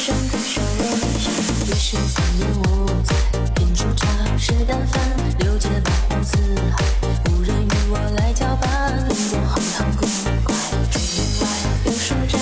生的手我没上，也是3年无灾。品出茶是淡饭，六界八荒四海，无人与我来交伴。人间荒唐古怪，竹林外有书斋。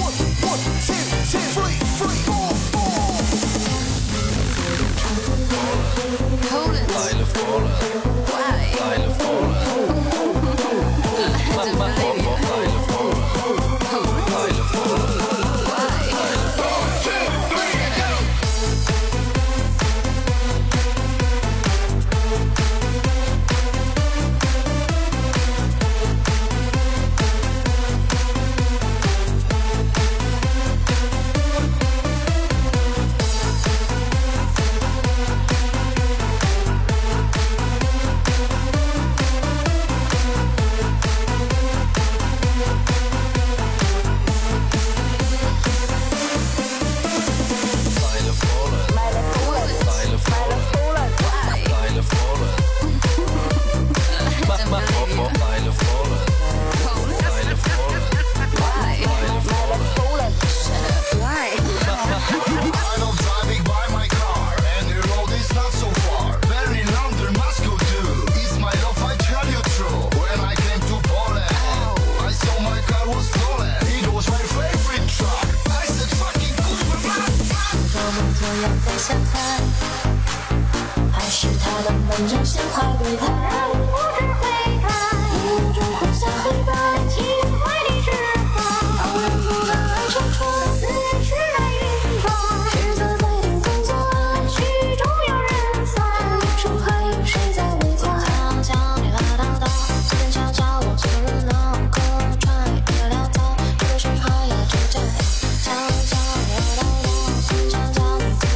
在相猜，还是他的门上鲜花对待，不知悔改，无中混淆黑白，情怀的释放，旁人不敢爱长春，思念是来云端，实则在等工作安，曲终有人散，远处还有谁在围观？悄悄你拉叨叨，这边悄悄我凑热闹，客串也潦草，有的时候要挣扎，悄悄你拉叨叨，孙悄悄。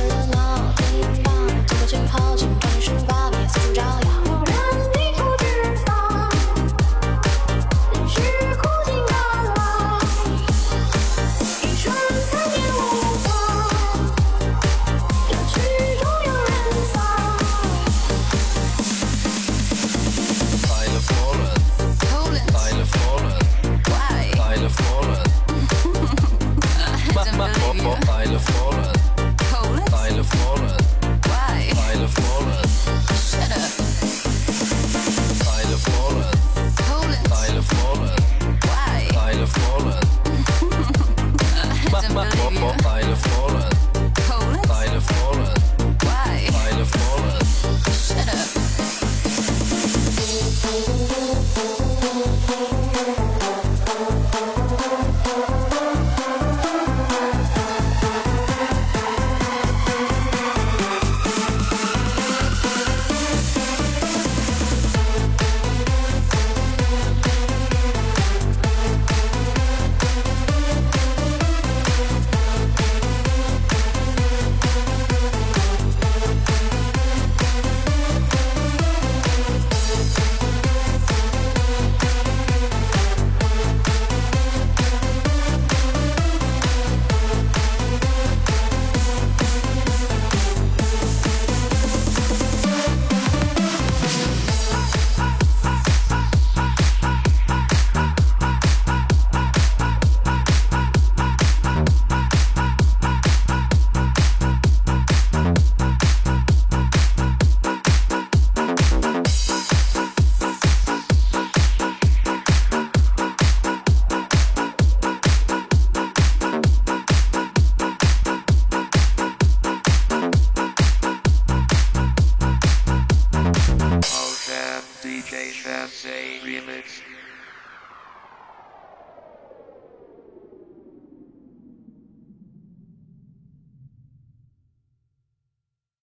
好景半十八面四处招摇，有人低头脂肪，人世苦尽甘来，一生3年无妨，这曲终有人散。 来了佛伦，来了佛伦，来了佛伦，来了佛伦，来了佛伦。来了佛伦，来了佛伦，来了佛伦，来了佛伦，来了佛伦，来了佛伦，来了佛伦。 DJ Sensei Remix.